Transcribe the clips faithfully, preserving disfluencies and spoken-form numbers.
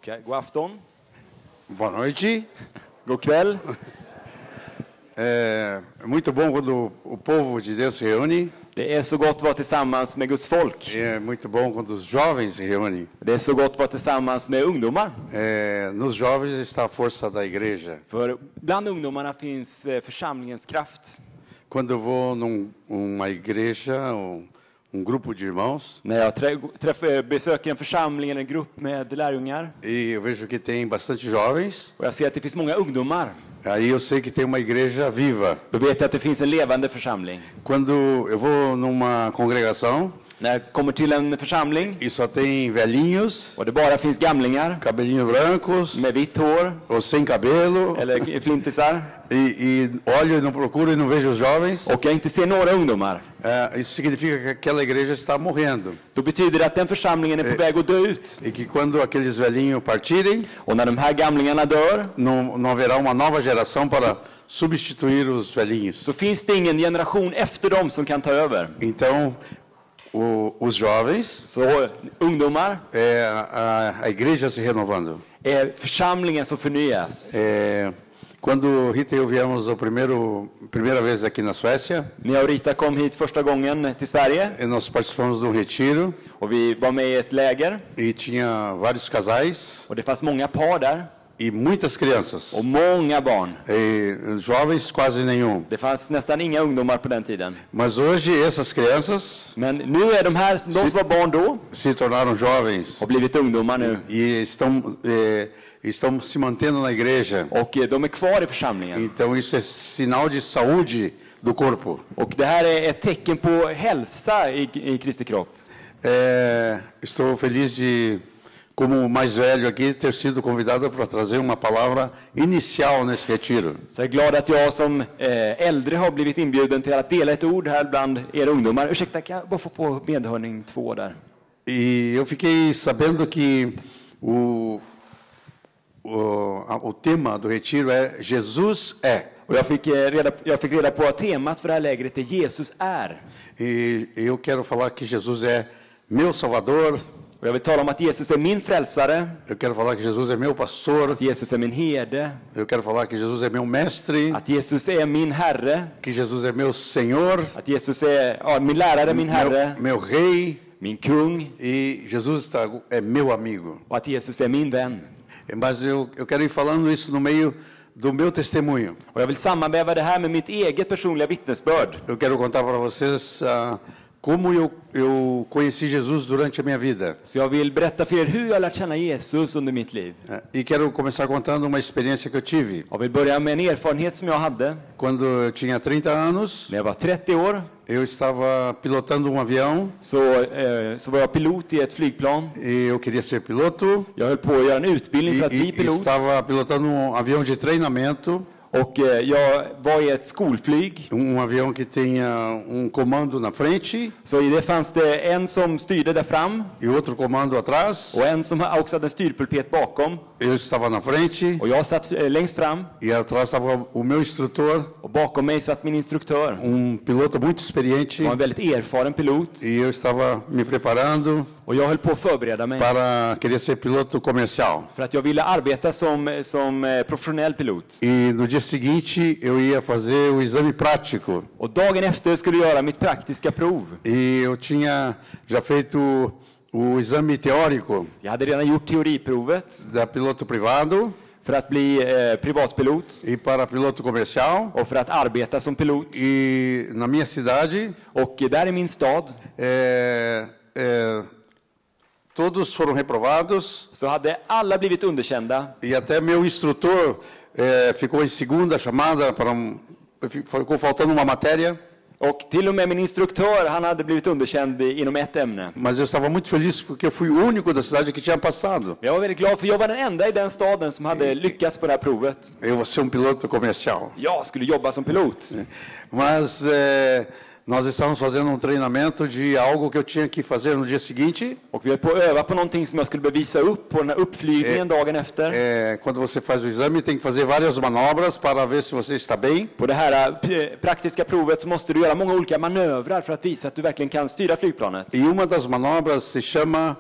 Okay. God afton. Boa noite. God kväll. É muito bom quando o povo de Deus se reúne. Det är så gott att vara tillsammans med Guds folk. É muito bom quando os jovens se reúnem. Det är så gott att vara tillsammans med ungdomar. É, nos jovens está a força da igreja. För bland ungdomarna finns församlingens kraft. Quando eu vou num uma igreja, um, um grupo de irmãos, När jag träffar, besöker en församling eller en grupp med lärjungar e eu vejo que tem bastante jovens, och jag ser att det finns många ungdomar, aí eu sei que tem uma igreja viva. då vet jag att det finns en levande församling. Quando eu vou numa congregação När jag kommer till en församling e só tem velhinhos, och det bara finns gamlingar cabelinho brancos, med vitt hår ou sem cabelo, eller flintisar e, e olho e não procuro e não vejo os jovens, och jag inte ser några ungdomar, é, isso significa que aquela igreja está morrendo. då betyder det att den församlingen är på väg att dö ut. E que quando aqueles velhinhos partirem, Och när de här gamlingarna dör não, não haverá uma nova geração para substituir os velhinhos. så finns det ingen generation efter dem som kan ta över. Então, o, os jovens Så ungdomar é a, a igreja se renovando. är församlingen som förnyas. É, quando Rita e eu viemos a primeiro primeira vez aqui na Suécia, När jag och Rita kom hit första gången till Sverige e nós participamos de um retiro och vi var med i ett läger e tinha vários casais och det fanns många par där e muitas crianças. och många barn. E jovens quase nenhum. Det fanns nästan inga ungdomar på den tiden. Mas hoje essas crianças Men nu är de här, de som var barn då, se tornaram jovens har blivit ungdomar nu. e estão eh, estão se mantendo na igreja. Och de är kvar i församlingen. Então isso é sinal de saúde do corpo. Och det här är ett tecken på hälsa i, i Kristi kropp. É, estou feliz de, como o mais velho aqui, ter sido convidado para trazer uma palavra inicial nesse retiro. Så jag är glad att jag som eh, äldre har blivit inbjuden till att dela ett ord här bland er ungdomar. Ursäkta, kan jag bara få på medhörning två där? E eu fiquei sabendo que o, o, a- o tema do retiro é Jesus é. Och jag fick, eh, reda, jag fick reda på att temat för det här lägret är Jesus är. E eu quero falar que Jesus é meu Salvador, Och jag vill tala om att Jesus är min frälsare, eu quero falar que Jesus é meu pastor, att Jesus är min herde, eu quero falar que Jesus é meu mestre, att Jesus är min herre, que Jesus é meu Senhor, att Jesus är ja, min lärare, min herre, meu, meu rei, min kung e Jesus está, é meu amigo. och att Jesus är min vän. Mas eu, eu quero ir falando isso no meio do meu testemunho. Och jag vill sammanväva det här med mitt eget personliga vittnesbörd. Eu quero contar para vocês ah, como eu, eu conheci Jesus durante a minha vida. Så jag vill berätta för er hur jag har lärt känna Jesus under mitt liv. Eh, E quero começar contando uma experiência que eu tive. Jag vill börja med en erfarenhet som jag hade. Quando eu tinha trinta anos, När jag var trettio år eu estava pilotando um avião så, eh, så var jag pilot i ett flygplan. e eu queria ser piloto. Jag höll på att göra en utbildning E, för att e, bli e pilot. estava pilotando um avião de treinamento, Och eh, jag var i ett skolflyg. um avião que tinha um comando na frente Så i det fanns det en som styrde där fram e outro comando atrás. och en som också hade en styrpulpet bakom. Eu estava na frente Och jag satt eh, längst fram e atrás estava o meu instrutor, och bakom mig satt min instruktör. um piloto muito experiente, Han var en väldigt erfaren pilot. e eu estava me preparando Och jag höll på att förbereda mig para querer ser piloto comercial. för att jag ville arbeta som, som eh, professionell pilot. E no dia seguinte eu ia fazer o exame prático. Och dagen efter skulle jag göra mitt praktiska prov. E eu tinha já feito o exame teórico Jag hade redan gjort teoriprovet da piloto privado för att bli eh, privatpilot e para piloto comercial. och för att arbeta som pilot. E na minha cidade, Och där i min stad é, é, todos foram reprovados så hade alla blivit underkända. e até meu instrutor é, ficou em segunda chamada para um, ficou faltando uma matéria. Och till och med min instruktör, han hade blivit underkänd i- inom ett ämne. Mas eu estava muito feliz porque eu fui o único da cidade que tinha passado. Jag var väldigt glad för jag var den enda i den staden som hade lyckats på det här provet. Eu vou ser um piloto comercial. Jag skulle jobba som pilot. Mas é, nós estávamos fazendo um treinamento de algo que eu tinha que fazer no dia seguinte. Och vi höll på att öva på någonting som jag skulle bevisa upp på den här uppflygningen dagen efter. É, quando você faz o exame, tem que fazer várias manobras para ver se você está bem. På det här eh, praktiska provet så måste du göra många olika manövrar för att visa att du verkligen kan styra flygplanet. E uma das manobras se chama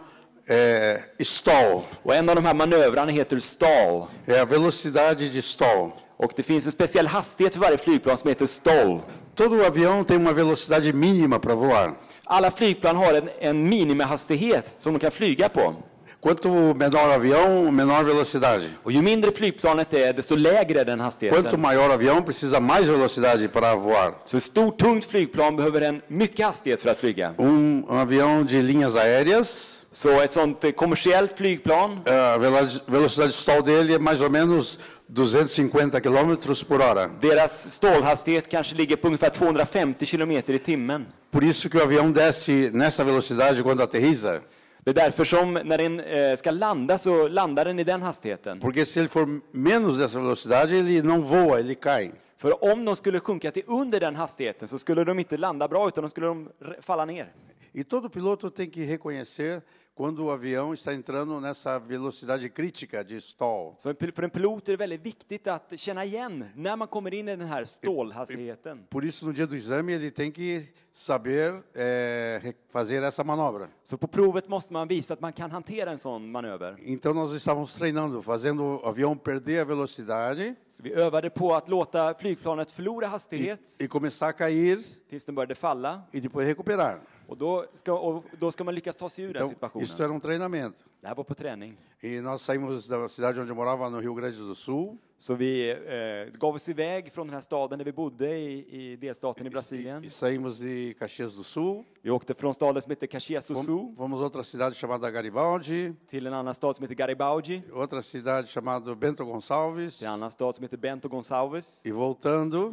é stall. Och en av de här manövrarna heter stall. É a velocidade de stall. Och det finns en speciell hastighet för varje flygplan som heter stall. Todo avião tem uma velocidade mínima para voar. Alla flygplan har en, en minimihastighet som de kan flyga på. Quanto menor o avião, menor velocidade. Och ju mindre flygplanet är, desto lägre är den hastigheten. Quanto maior o avião, precisa mais velocidade para voar. Så ett stort, tungt flygplan behöver en mycket hastighet för att flyga. Um, um avião de linhas aéreas, Så ett sånt eh, kommersiellt flygplan, a velo- velocidade de stall dele é mais ou menos duzentos e cinquenta quilômetros por hora. deras stålhastighet kanske ligger på ungefär tvåhundrafemtio kilometer i timmen. Por isso que o avião desce nessa velocidade quando aterriza. Det är därför som när den eh, ska landa så landar den i den hastigheten. Porque se ele for menos dessa velocidade, ele não voa, ele cai. För om de skulle sjunka till under den hastigheten så skulle de inte landa bra utan de skulle de r- falla ner. E todo piloto tem que reconhecer quando o avião está entrando nessa velocidade crítica de stall. Så en pil- för en pilot är det väldigt viktigt att känna igen när man kommer in i den här stålhastigheten. Por isso, no dia do exame, ele tem que saber eh, re- fazer essa manobra. Så på provet måste man visa att man kan hantera en sån manöver. Então, nós estávamos treinando, fazendo o avião perder a velocidade Så vi övade på att låta flygplanet förlora e, hastighet e começar a cair tills den började falla. e depois recuperar. Och då ska, och då ska man lyckas ta sig ur den Então, situationen. isso era um treinamento. Det här var på träning. E nós saímos da cidade onde eu morava, no Rio Grande do Sul, Så vi eh, gav oss iväg från den här staden där vi bodde i, i delstaten i e, Brasilien. e saímos de Caxias do Sul, Vi åkte från staden som heter Caxias do fomos, Sul fomos a outra cidade chamada Garibaldi, till en annan stad som heter Garibaldi, outra cidade chamada Bento Gonçalves, till en annan stad som heter Bento Gonçalves. e voltando,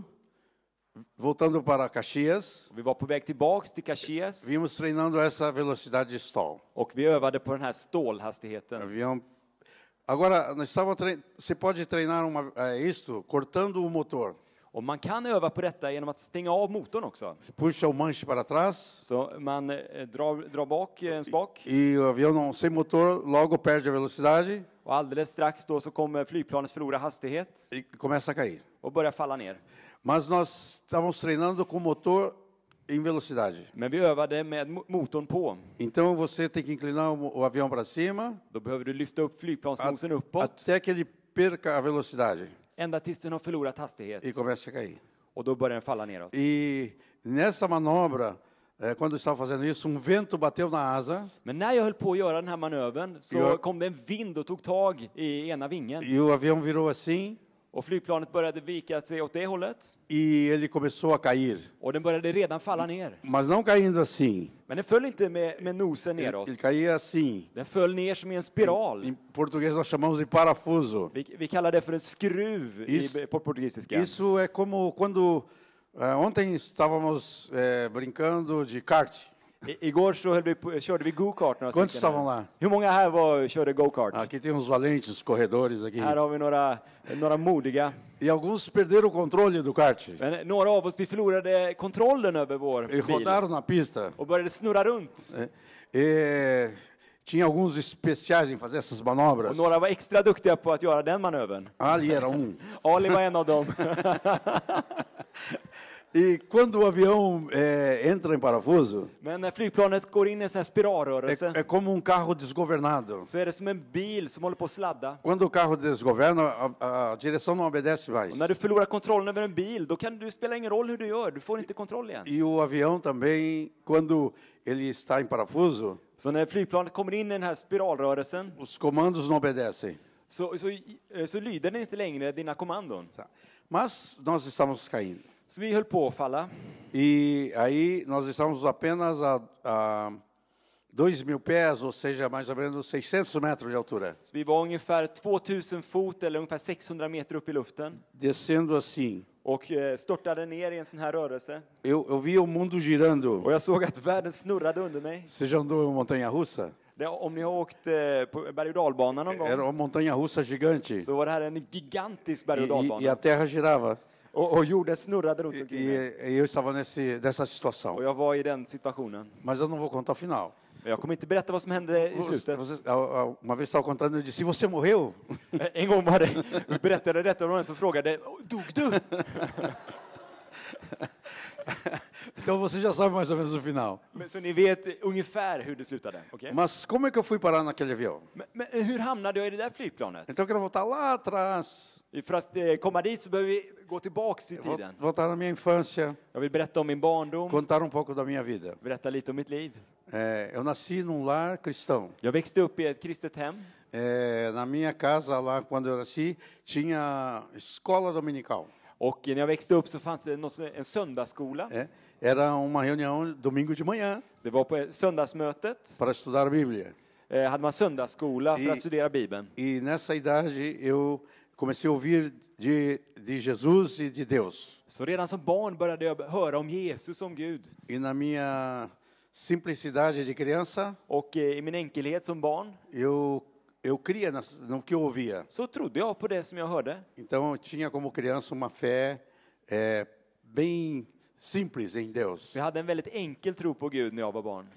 voltando para Caxias, Vi var på väg tillbaks till Caxias vimos treinando essa velocidade de stall. och vi övade på den här stålhastigheten. Avião. Agora, nós estávamos tre... você pode treinar uma, é, isto cortando o motor. Och man kan öva på detta genom att stänga av motorn också. Você puxa o manche para trás Så man eh, drar, drar bak en spak e o avião não sem motor logo perde a velocidade och alldeles strax då så kommer flygplanet förlora hastighet e começa a cair. och börja falla ner. Mas nós estávamos treinando com motor em velocidade. Men vi övade med mo- motorn på. Então você tem que inclinar o, o avião para cima Då behöver du lyfta upp flygplansnosen a- uppåt até que ele perca a velocidade ända tills den har förlorat hastighet. e comece a cair. Och då börjar den falla neråt. E nessa manobra, eh, quando eu estava fazendo isso, um vento bateu na asa Men när jag höll på att göra den här manövern så Ja. kom det en vind och tog tag i ena vingen. e o avião virou assim Och flygplanet började vika sig åt det hållet. e ele começou a cair. Och den började redan falla ner. Mas não caindo assim. Men den föll inte med, med nosen Ele, neråt. ele caía assim. Den föll ner som i en spiral. Em português nós chamamos de parafuso. Vi, vi kallar det för en skruv Isso- i, på portugisiska. Isso é como quando eh, ontem estávamos eh, brincando de kart. I, igår så höll vi på, körde vi go-kart några Quantos stycken estavam här. lá? Hur många här var, körde go-kart? Aqui tem uns valentes corredores aqui. Här har vi några, några modiga. E alguns perderam o controle do kart Men några av oss vi förlorade kontrollen över vår e bil rodaram na pista. och började snurra runt. Eh, E tinha alguns especiais em fazer essas manobras. Och några var extra duktiga på att göra den manövern. Ali era um. Ali var en av dem. E quando o avião eh, entra em parafuso, Men när flygplanet går in i en sån här spiralrörelse é, é como um carro desgovernado. så är det som en bil som håller på att sladda. Quando o carro desgoverna, a, a direção não obedece mais. Och när du förlorar kontrollen över en bil, då kan du spela ingen roll hur du gör. Du får inte kontroll igen. E o avião também, quando ele está em parafuso, Så när flygplanet kommer in i den här spiralrörelsen os comandos não obedecem. så, så, så lyder den inte längre dina kommandon. Tá. Mas nós estamos caindo. Så vi höll på att falla. E aí nós estamos apenas a, a dois mil pés, ou seja, mais ou menos seiscentos metros de altura. Så vi var ungefär tvåtusen fot eller ungefär sexhundra meter upp i luften. Descendo assim. Och eh, störtade ner i en sån här rörelse. Eu, eu via o mundo girando. Och jag såg att världen snurrade under mig. Você já andou em uma montanha-russa? Det, om ni har åkt eh, på berg- och dalbanan någon Era gång uma montanha-russa gigante. så var det här en gigantisk berg- och E, e, e a dalbana. terra girava. Och, och jorden snurrade runt E, omkring mig. e eu estava nesse, nessa situação. Och jag var i den situationen. Mas eu não vou contar o final. Men jag kommer inte berätta vad som hände i Você, slutet. você, a- a- uma vez estava contando, eu disse, e você morreu? En gång var det, vi berättade detta och någon som frågade, dog du? Então você já sabe mais ou menos o final. Men, så ni vet ungefär hur det slutade. Okay? Mas como é que eu fui parar naquele avião? Men, men hur hamnade jag i det där flygplanet? Então eu quero voltar lá atrás, För att eh, komma dit så behöver vi gå tillbaks i vol- tiden. voltar na minha infância, Jag vill berätta om min barndom, contar um pouco da minha vida. berätta lite om mitt liv. É, eu nasci num lar cristão. Jag växte upp i ett kristet hem. É, na minha casa lá, quando eu nasci, tinha escola dominical. Och när jag växte upp så fanns det något, en söndagsskola. É, era uma reunião domingo de manhã Det var på söndagsmötet. para estudar a Bíblia. Eh, hade man söndagsskola för I- att studera Bibeln. E nessa idade eu comecei a ouvir de, de Jesus e de Deus. Så redan som barn började jag höra om Jesus, om Gud. E na minha simplicidade de criança, Och eh, i min enkelhet som barn eu eu cria nas- no que eu ouvia. så trodde jag på det som jag hörde. Então eu tinha como criança uma fé é, bem simples em Deus. Så jag hade en väldigt enkel tro på Gud när jag var barn.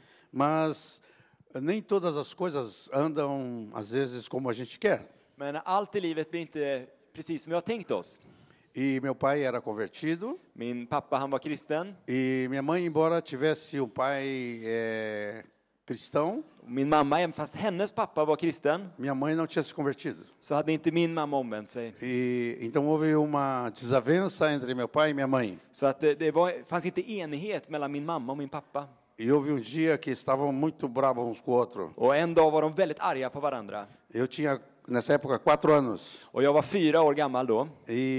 Mas nem todas as coisas andam às vezes como a gente quer. Men allt i livet blir inte precis som vi har tänkt oss. E meu pai era convertido Min pappa, han var kristen. e minha mãe, embora tivesse um pai é, cristão, Min mamma, även fast hennes pappa var kristen, minha mãe não tinha se convertido. så hade inte min mamma omvänt sig. E então houve uma desavença entre meu pai e minha mãe. Så att det, det var, fanns inte enighet mellan min mamma och min pappa. E houve um dia que estavam muito bravos uns com o outro. Och en dag var de väldigt arga på varandra. Eu tinha nessa época quatro anos Och jag var fyra år gammal då.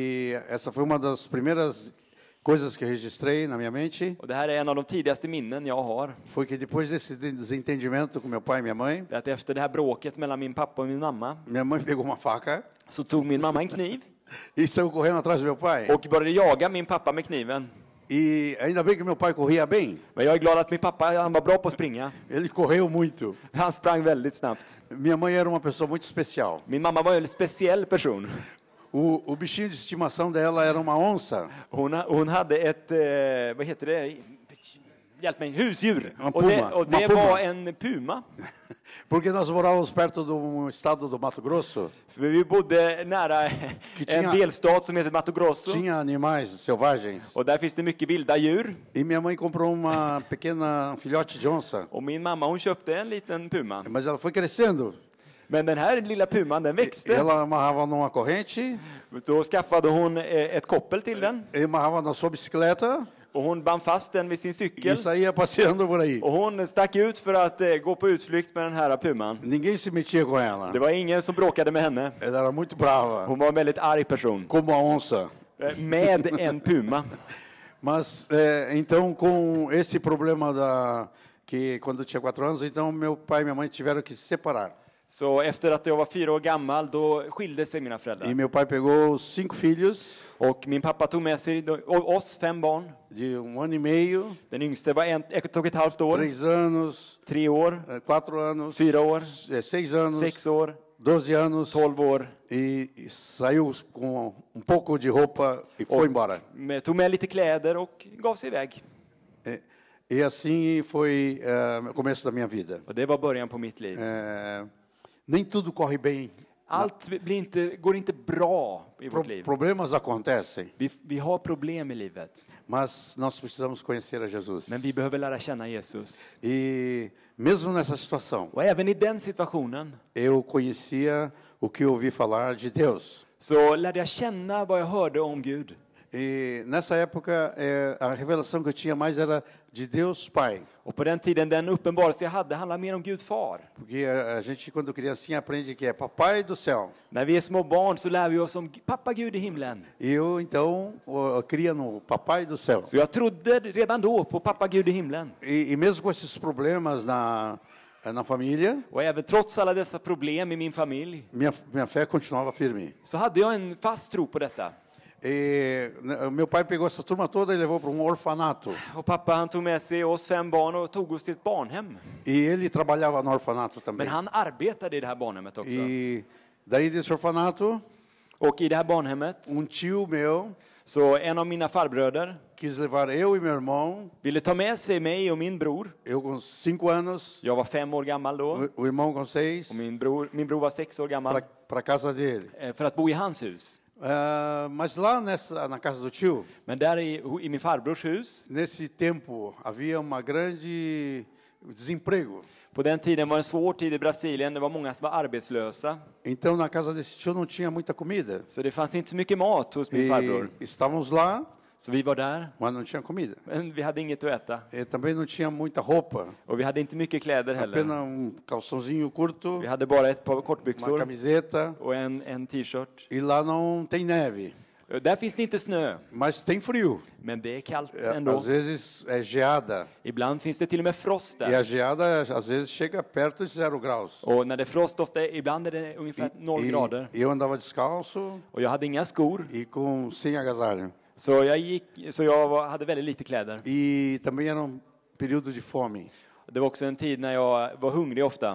e essa foi uma das primeiras coisas que eu registrei na minha mente. Och det här är en av de tidigaste minnen jag har. Foi que depois desse desentendimento com meu pai e minha mãe, Det är att efter det här bråket mellan min pappa och min mamma minha mãe pegou uma faca så tog min mamma en kniv e saiu correndo atrás do meu pai. och började jaga min pappa med kniven. E ainda bem que meu pai corria bem. Men jag är glad att min pappa, han var bra på att springa. Ele correu muito. Han sprang väldigt snabbt. Minha mãe era uma pessoa muito especial. Min mamma var en väldigt speciell person. O, o bichinho de estimação dela era uma onça. Hon, hon hade ett, eh, vad heter det? Hjälp mig, husdjur. En Och det, puma. och det En puma. var en puma. Porque nós morávamos perto do estado do Mato Grosso. För vi bodde nära en tinha- delstat som heter Mato Grosso. Tinha animais selvagens. Och där finns det mycket vilda djur. E minha mãe comprou uma pequena um filhote de onça. Och min mamma, hon köpte en liten puma. Mas ela foi crescendo. Men den här lilla puman, den växte. Ela amarrava numa corrente, Då skaffade hon eh, ett koppel till den. e amarrava na sua bicicleta Och hon band fast den vid sin e cykel. saía passeando por aí. Och hon stack ut för att eh, gå på utflykt med den här puman. Ninguém se metia com ela. Det var ingen som bråkade med henne. Ela era muito brava, Hon var en väldigt arg person. como a onça. Eh, Med en puma. Mas, é, então, com esse problema da que quando eu tinha quatro anos, então meu pai e minha mãe tiveram que se separar. Så efter att jag var fyra år gammal, då skilde sig mina E föräldrar. meu pai pegou cinco filhos Och min pappa tog med sig då- och oss fem barn. de um ano e meio, Den yngste var en, ett och ett halvt år, três anos, tre år, eh, quatro anos, fyra år, eh, seis anos, sex år, doze anos, tolv år. e, e saiu com um pouco de roupa e foi embora. Med, tog med lite kläder och gav sig iväg. E, e assim foi eh, o começo da minha vida. Och det var början på mitt liv. Eh, nem tudo corre bem. Allt blir inte, går inte bra i Pro, vårt liv. problemas acontecem, Vi, vi har problem i livet. mas nós precisamos conhecer a Jesus. Men vi behöver lära känna Jesus. E mesmo nessa situação, Och även i den situationen eu conhecia o que eu ouvi falar de Deus. så lärde jag känna vad jag hörde om Gud. E nessa época, eh, a revelação que eu tinha mais era de Deus Pai. Och på den tiden, den uppenbarelse jag hade handlade mer om Gud far. Porque a, a gente, quando criancinha, aprende que é Papai do céu. När vi är små barn så lär vi oss om pappa Gud i himlen. E eu, então, eu, eu cria no Papai do céu. Så jag trodde redan då på pappa Gud i himlen. E, e mesmo com esses problemas na, na família, Och även trots alla dessa problem i min familj minha, minha fé continuava firme. så hade jag en fast tro på detta. E né, meu pai pegou essa turma toda e levou para um orfanato. Och pappa han tog med sig oss fem barn och tog oss till ett barnhem. E ele trabalhava no orfanato também. Men han arbetade i det här barnhemmet också. E daí desse orfanato, Och i det här barnhemmet um tio meu så en av mina farbröder quis levar eu e meu irmão, ville ta med sig mig och min bror. eu com cinco anos, Jag var fem år gammal då. o, o irmão com seis, Och min bror, min bror var sex år gammal. para a casa dele. eh, För att bo i hans hus. Ah, mas lá nessa, na casa do tio, Men där i, i min farbrors hus, nesse tempo, havia uma grande desemprego. på den tiden var en svår tid i Brasilien. Det var många som var arbetslösa. Então, na casa desse tio não tinha muita comida. Så det fanns inte så mycket mat hos min farbror. E estávamos lá, Så vi var där, mas não tinha comida. men vi hade inget att äta. E também não tinha muita roupa. Och vi hade inte mycket kläder heller. Apenas um calçãozinho curto, Vi hade bara ett par uma kortbyxor camiseta. och en, en t-shirt. E lá não tem neve, Där finns det inte snö, mas tem frio. men det är kallt É, ändå. às vezes é geada. Ibland finns det till och med frost E där. a geada às vezes chega perto de zero graus. Och när det är frost ofta, ibland är det ungefär noll grader. E eu andava descalço Och jag hade inga skor, e com sem agasalho. så jag, gick, så jag var, hade väldigt lite kläder. E também era um período de fome. Det var också en tid när jag var hungrig ofta.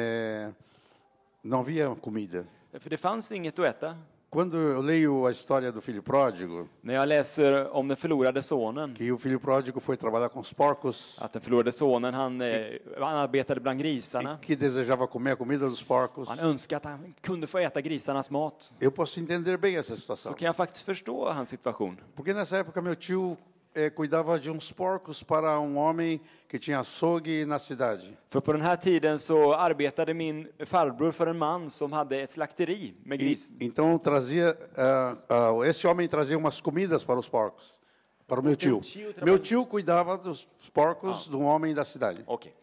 É, não havia comida. För det fanns inget att äta. Quando eu leio a história do filho pródigo, När jag läser om den förlorade sonen, que o filho pródigo foi trabalhar com os porcos att den förlorade sonen, han, eh, han arbetade bland grisarna. e que desejava comer a comida dos porcos, Han önskade att han kunde få äta grisarnas mat. eu posso entender bem essa Så situação. kan jag faktiskt förstå hans situation. Porque nessa época meu tio eh, cuidava de uns porcos para um homem que tinha açougue na cidade. För på den här tiden så arbetade min farbror för en man som hade ett slakteri med E, gris. então trazia, ah, ah, esse homem trazia umas comidas para os porcos, para o meu tio. tio trabalha- Meu tio cuidava dos porcos de um homem da cidade. Okej.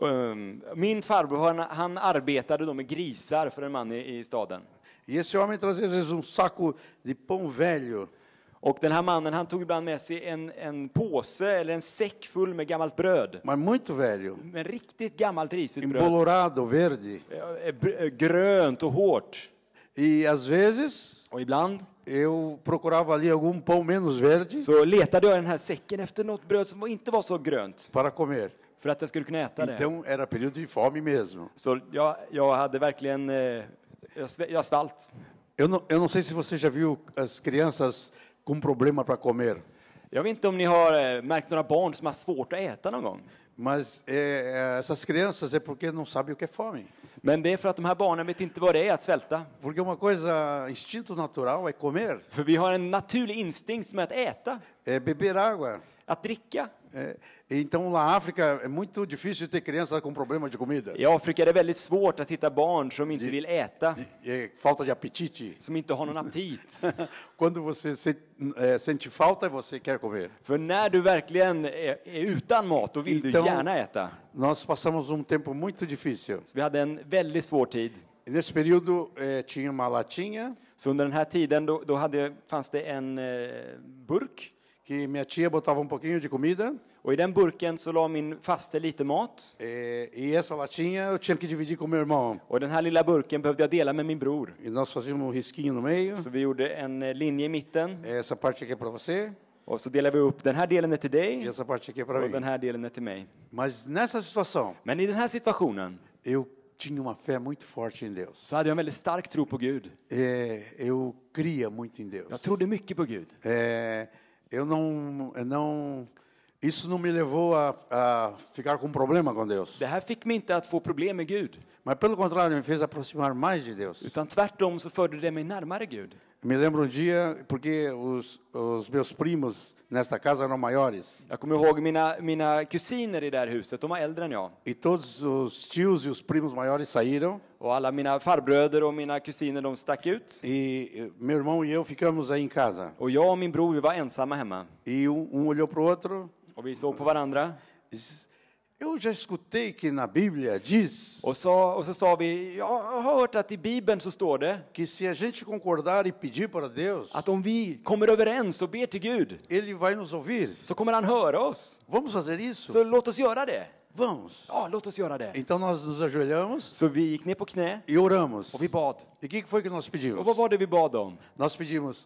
Um, min farbror han, han arbetade då med grisar för en man i, i staden. E esse homem trazia às vezes um saco de pão velho. Och den här mannen han tog ibland med sig en, en påse eller en säck full med gammalt bröd. Mas muito velho, Men riktigt gammalt risigt bröd. embolorado, verde. Eh, br- eh, Grönt och hårt. E às vezes Och ibland eu procurava ali algum pão menos verde så letade jag i den här säcken efter något bröd som inte var så grönt. para comer. För att jag skulle kunna äta det. Então era período de fome mesmo. Så jag, jag hade verkligen, eh, jag, sve- jag svalt. Eu não, eu não sei se você já viu as crianças com problema para comer, Jag vet inte om ni har eh, märkt några barn som har svårt att äta någon gång. mas eh, essas crianças é porque não sabem o que é fome. Men det är för att de här barnen vet inte vad det är att svälta. Porque uma coisa, instinto natural é comer, För vi har en naturlig instinkt som är att äta, é beber água. att dricka. É, então, na África, é muito difícil ter criança com problema de comida. I Afrika är det väldigt svårt att hitta barn som inte vill äta, É, falta de apetite. som inte har någon aptit. Quando você se, é, sente falta, você quer comer. För när du verkligen är, är utan mat, då vill du Então- gärna äta. Nós passamos um tempo muito difícil. Så vi hade en väldigt svår tid. E nesse período, eh, tinha uma latinha Så under den här tiden då, då hade, fanns det en eh, burk. que minha tia botava um pouquinho de comida. Och i den burken så la min faste lite mat. Eh, e essa latinha eu tinha que dividir com meu irmão. Och den här lilla burken behövde jag dela med min bror. E nós fazíamos um risquinho no meio. Så vi gjorde en eh, linje i mitten. Essa parte aqui é para você Och så delade vi upp, den här delen är till e dig essa parte aqui é para och den mim. här delen är till mig. Mas nessa situação, Men i den här situationen eu tinha uma fé muito forte em Deus. så hade jag en väldigt stark tro på Gud. Eh, eu cria muito em Deus. Jag trodde mycket på Gud. Eh, eu não, eu não, isso não me levou a, a ficar com problema com Deus. Det här fick mig inte att få problem med Gud. Mas pelo contrário, me fez aproximar mais de Deus. Utan tvärtom så förde det mig närmare Gud. Me lembro um dia, porque os, os meus primos nesta casa eram maiores, Jag kommer ihåg mina, mina kusiner i det här huset, de var äldre än jag. e todos os tios e os primos maiores saíram, Och alla mina farbröder och mina kusiner de stack ut. e eh, meu irmão e eu ficamos aí em casa. Och jag och min bror vi var ensamma hemma. E um, um olhou para o outro Och vi såg på varandra. e disse, eu já escutei que na Bíblia diz Och så, och så sa vi, jag har hört att i Bibeln så står det que se a gente concordar e pedir para Deus, att om vi kommer överens och ber till Gud Ele vai nos ouvir. så kommer han höra oss. Vamos fazer isso? Så låt oss göra det. Vamos. Ja, låt oss göra det. Então nós nos ajoelhamos Så vi gick ner på knä e oramos. och vi bad. E o que que foi que nós Och pedimos? vad var det vi bad om? Nós pedimos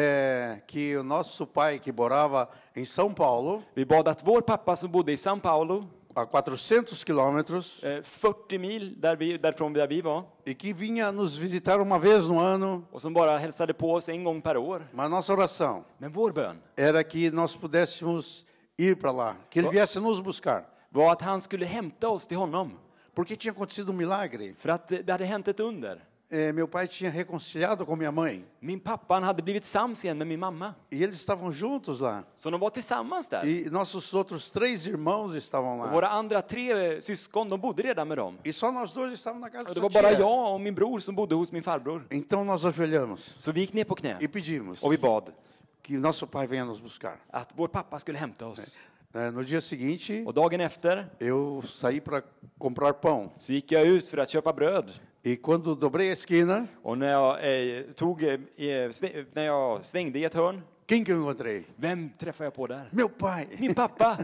eh, que o nosso pai, que morava em São Paulo, Vi bad att vår pappa som bodde i São Paulo, a quatrocentos quilômetros, eh, fyrtio mil där vi, därifrån där vi var, e que vinha nos visitar uma vez no ano, och som bara hälsade på oss en gång per år. mas nossa oração Men vår bön era que nós pudéssemos ir para lá, que ele viesse nos buscar, var att han skulle hämta oss till honom. porque tinha acontecido um milagre. För att det hade hänt ett under. eh, meu pai tinha reconciliado com minha mãe. Min pappa han hade blivit sams igen med min mamma. E eles estavam juntos lá. Så de var tillsammans där. E nossos outros três irmãos estavam Och lá. våra andra tre syskon, de bodde redan med dem. E só nós dois estávamos na casa Och det da var bara tia. jag och min bror som bodde hos min farbror. Então nós ajoelhamos Så vi gick ner på knä e pedimos och vi bad que nosso pai venha nos buscar. att vår pappa skulle hämta oss. Eh, No dia seguinte, Och dagen efter eu saí para comprar pão. så gick jag ut för att köpa bröd. E quando dobrei a esquina, Och när jag, eh, tog, eh, sve- när jag svängde i ett hörn, quem que eu encontrei? vem träffade jag på där? Meu pai. Min pappa!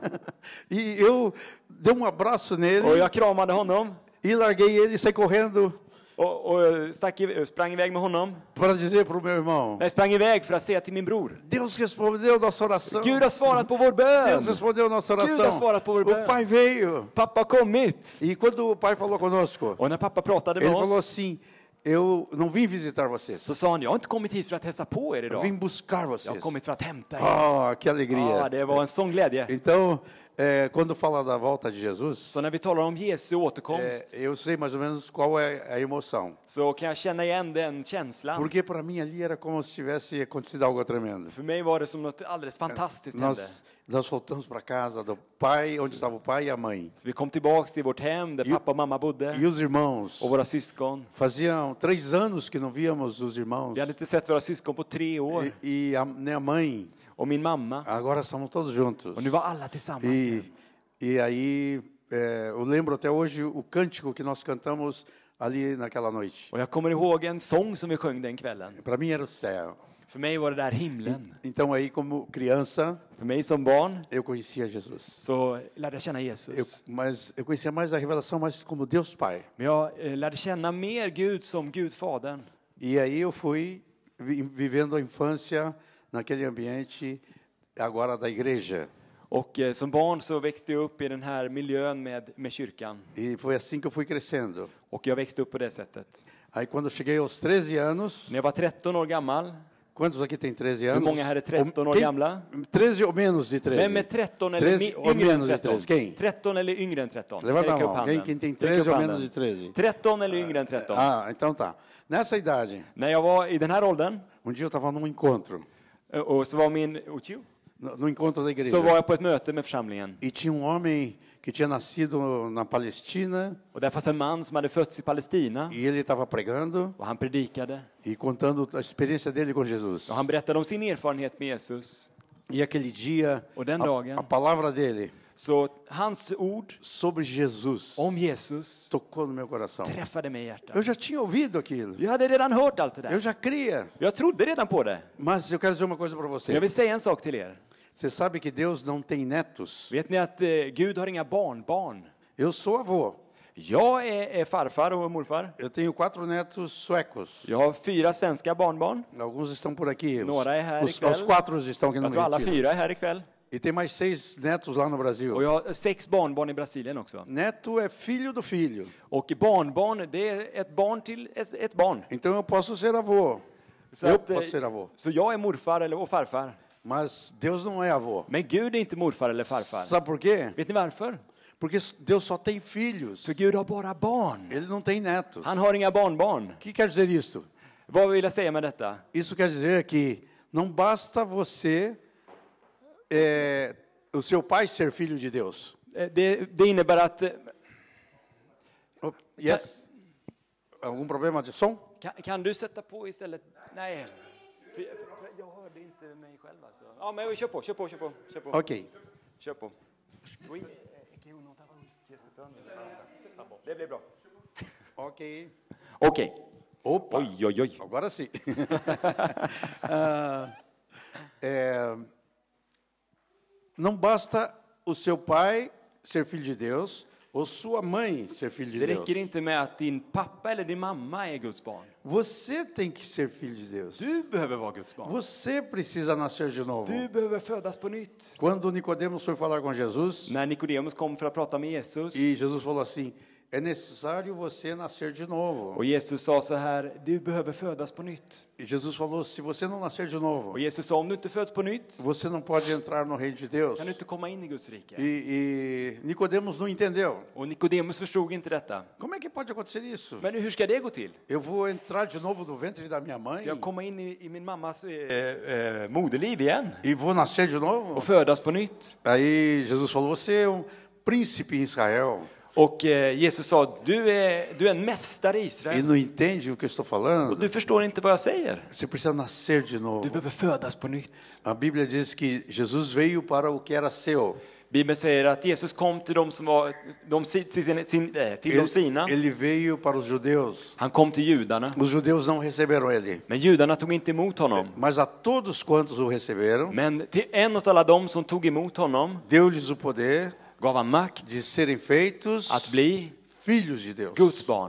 E eu dei um abraço Och nele jag kramade honom e larguei ele e saí correndo och, och stack, i- sprang iväg med honom. para dizer para o meu irmão: Jag sprang iväg för att säga till min bror: Deus respondeu nossa oração. Gud har svarat på vår Deus bön! respondeu nossa Gud har oração. svarat på vår O bön! pai veio. Pappa har kommit! E quando o pai falou conosco, Och när pappa pratade ele med falou oss assim: eu não vim visitar vocês, så sa han: jag har inte kommit hit för att hälsa på er eu idag. vim buscar Jag har vocês. kommit för att hämta er. Oh, que Ja, alegria. det var en sån glädje. Então, eh, quando fala da volta de Jesus, Så när vi talar om Jesu eh, återkomst eu sei mais ou menos qual é a emoção. så kan jag känna igen den känslan. Porque para mim ali era como se tivesse acontecido algo tremendo. För mig var det som något alldeles fantastiskt hände. Nós, nós voltamos para casa do pai, onde estava o pai e a mãe. Så vi kom tillbaks till vårt hem där E- pappa och mamma E bodde os irmãos. och våra syskon. Faziam três anos que não víamos os irmãos. Vi hade inte sett våra syskon på tre år. E, e a, nem a mãe. Och min mamma. Agora estamos todos juntos. Och nu var alla tillsammans E, igen. e aí, é, eu lembro até hoje o cântico que nós cantamos ali naquela noite. Och jag kommer ihåg en sång som vi sjöng den kvällen. Para mim era o céu. För mig var det där himlen. Então aí, como criança, För mig som barn eu conhecia Jesus. så lärde jag känna Eu, Jesus. mas eu conhecia mais a revelação, mais como Deus Pai. Men jag eh, lärde känna mer Gud som Gud Fadern. E aí eu fui vi- vivendo a infância naquele ambiente agora da igreja. Och eh, som barn så växte jag upp i den här miljön med, med kyrkan. E foi assim que eu fui crescendo. Och jag växte upp på det sättet. Aí quando eu cheguei aos treze anos, När jag var tretton år gammal. quantos aqui tem treze Hur anos? många här är tretton år Quem- gamla? treze ou menos de treze? Vem är tretton eller treze mi- ou yngre än menos de tretton? treze? Quem? tretton eller yngre än tretton? Levanta a Räck upp mão. handen. Quem, quem tem Räck treze upp ou handen. menos de treze? tretton eller yngre än tretton? Ah, então tá. Nessa idade, När jag var i den här åldern, um dia eu estava num encontro, eh, och så var min... Otjo, no no encontro da igreja. så var jag på ett möte med församlingen. E tinha um homem que tinha nascido na Palestina Och där fanns en man som hade fötts i Palestina. e ele estava pregando Och han predikade. e contando a experiência dele com Jesus. Och han berättade om sin erfarenhet med Jesus. E aquele dia, Och den a, dagen, a palavra dele så hans ord sobre Jesus om Jesus tocou no meu coração. träffade mig i Eu hjärtat. já tinha ouvido aquilo. Jag hade redan hört allt det Eu där. já cria. Jag trodde redan på det. Mas eu quero dizer uma coisa para Men jag você. vill säga en sak till er. Você sabe que Deus não tem netos? Vet ni att eh, Gud har inga barnbarn? Eu sou avô. Jag är, är farfar och morfar. Eu tenho quatro netos suecos. Jag har fyra svenska barnbarn. Alguns estão por aqui. Os, Några är här os, ikväll. os quatro estão aqui no Jag tror alla retiro. fyra är här ikväll. E tem mais seis netos lá no Brasil. Och jag har sex barnbarn i Brasilien också. Neto é filho do filho. Och barnbarn, det är ett barn till ett, ett barn. Então eu posso ser avô. Så, eu att, eh, posso ser avô. så jag är morfar eller, och farfar. Mas Deus não é avô. Men Gud är inte morfar eller farfar. Sabe por quê? Vet ni varför? Porque Deus só tem filhos. För Gud har bara barn. Ele não tem netos. Han har inga barnbarn. O que quer dizer isso? Vad vill jag säga med detta? Isso quer dizer que não basta você, é, o seu pai ser filho de Deus. Eh, Det, det innebär att... eh, Oh, yes. Algum problema de som? Kan, kan du sätta på istället? Nej. För, för, för jag hörde inte mig själv alltså. Ja, men kör på, kör på, kör på. Kör på. Ok. Kör på. Det blir bra. Ok. Okej. Opa. Oj, oj, oj. Agora sim. Ah, é, não basta o seu pai ser filho de Deus ou sua mãe ser filho de Det Deus. räcker inte med att din pappa eller din mamma är Guds barn. Você tem que ser filho de Deus. Du behöver vara Guds barn. Você precisa nascer de novo. Du behöver födas på nytt. Quando Nicodemos foi falar com Jesus, När Nikodemus kom för att prata med Jesus e Jesus falou assim: é necessário você nascer de novo. Och Jesus sa så här, du behöver födas på nytt. E Jesus falou, se você não nascer de novo, Och Jesus sa, om du inte föds på nytt, você não pode entrar no reino de Deus. kan du inte komma in i Guds rike. E, e Nicodemos não entendeu. Och Nikodemus förstod inte detta. Como é que pode acontecer isso? Men hur ska det gå till? Eu vou entrar de novo no ventre da minha mãe Ska jag komma in i, i min mammas eh, eh, moderliv igen? e vou nascer de novo? Och födas på nytt? Aí Jesus falou, você é um príncipe em Israel Och eh, Jesus sa, du är, du är en mästare i e Israel. não entende o que eu estou Och falando? du förstår inte vad jag säger. Você precisa nascer de Du novo. behöver födas på nytt. A Bíblia diz que Jesus veio para o que era seu. Bibeln säger att Jesus kom till dem som var de, sin, sin, eh, till de Ele, sina. ele veio para os judeus. Han kom till judarna. Os judeus não receberam ele. Men judarna tog inte emot honom. Mas a todos quantos o receberam, Men till en av alla dem som tog emot honom deu-lhes o poder gav han makt de serem feitos att bli filhos de Deus. Guds barn.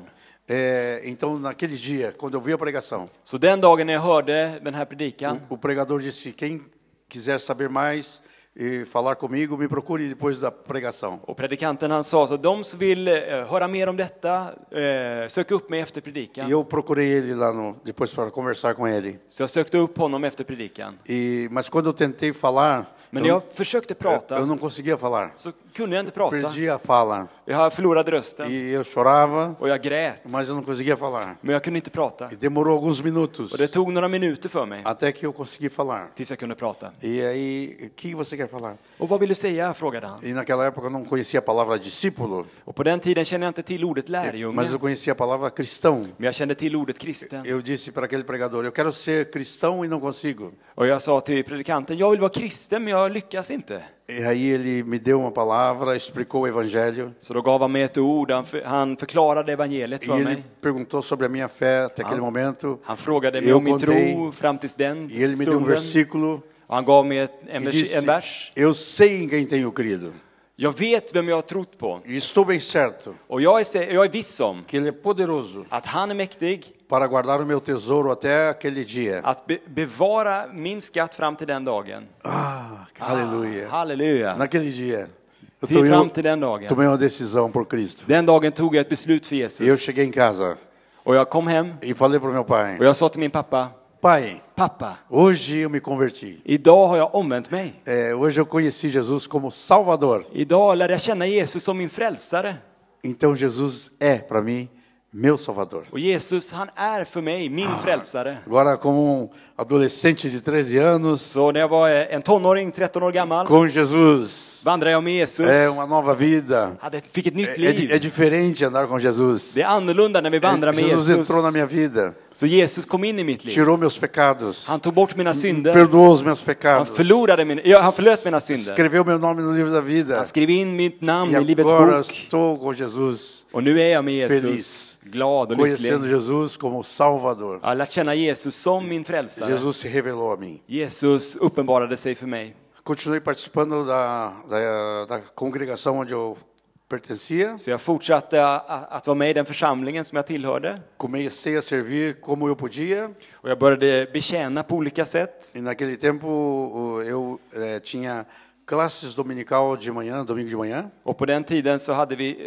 É, então, naquele dia, quando eu vi a pregação, Så den dagen när jag hörde den här predikan, o, o pregador disse, quem quiser saber mais e falar comigo, me procure depois da pregação. och predikanten han sa så de som vill eh, höra mer om detta, eh, sök upp mig efter E predikan. eu procurei ele lá no, depois para conversar com ele. Så jag sökte upp honom efter predikan. E, mas quando eu tentei falar, Men när eu, jag försökte eu, prata eu não conseguia falar. så kunde jag inte prata. Perdi a fala. Jag förlorade rösten E eu chorava, och jag grät. mas eu não conseguia falar. Men jag kunde inte prata. E demorou alguns minutos Och det tog några minuter för mig até que eu consegui falar. tills jag kunde prata. E aí, o que você quer falar? Och vad vill du säga? Frågade han. E naquela época eu não conhecia a palavra discípulo, Och på den tiden kände jag inte till ordet mas lärjunge. eu conhecia a palavra cristão. Men jag kände till ordet kristen. Eu disse para aquele pregador, eu quero ser cristão e não consigo. Och jag sa till predikanten, jag vill vara kristen men jag lyckas inte. E aí ele me deu uma palavra, explicou o evangelho. Så då gav han mig ett ord, han, för, han förklarade evangeliet E för ele mig. perguntou sobre a minha fé até aquele momento. Han frågade mig Eu om min contei. tro fram tills den E ele me deu um stunden. versículo Och han gav mig ett, en, que vers, disse, en vers. eu sei em quem tenho crido. Jag vet vem jag har trott på. E estou bem certo Och jag är, se- jag är viss om que ele é poderoso att han är mäktig para guardar o meu tesouro até aquele dia. att be, bevara min skatt fram till den dagen. Ah, aleluia. Halleluja. Naquele dia, eu Till fram tomei, till den dagen. tomei uma decisão por Cristo. Den dagen tog jag ett beslut för E eu Jesus. cheguei em casa Och jag kom hem e falei para o meu pai, och jag sa till min pappa, pai, pappa, hoje eu me converti. idag har jag omvänt mig. É, hoje eu conheci Jesus como Salvador. Idag lärde jag känna Jesus som min frälsare. Então Jesus é para mim meu Salvador. Och Jesus, han är för mig min frälsare. Agora como um adolescente de treze anos, Så när jag var en tonåring, tretton år gammal, com Jesus, vandrade jag med Jesus. é uma nova vida. Hade, fick ett É, nytt é, di- é liv. diferente andar com Jesus. Det är annorlunda när vi vandrar med Jesus Jesus. entrou na minha vida, Så Jesus kom in i mitt liv. tirou meus pecados, Han tog bort mina synder. perdoou os meus Han pecados, förlorade min, ja, han förlöt mina synder. escreveu meu nome no livro da vida. Han skrev in mitt namn E i Livets agora bok. estou com Jesus, Och nu är jag med Jesus, Feliz. glad och conhecendo lycklig. Jesus como Salvador. Jag har lärt känna Jesus som min frälsare. Jesus se revelou a mim. Jesus uppenbarade sig för mig. Continuei participando da, da, da congregação onde eu pertencia. Så jag fortsatte a- att vara med i den församlingen som jag tillhörde. Comecei a servir como eu podia. Och jag började betjäna på olika sätt. E naquele tempo o- eu eh, tinha classes dominical de manhã, domingo de manhã. Och på den tiden så hade vi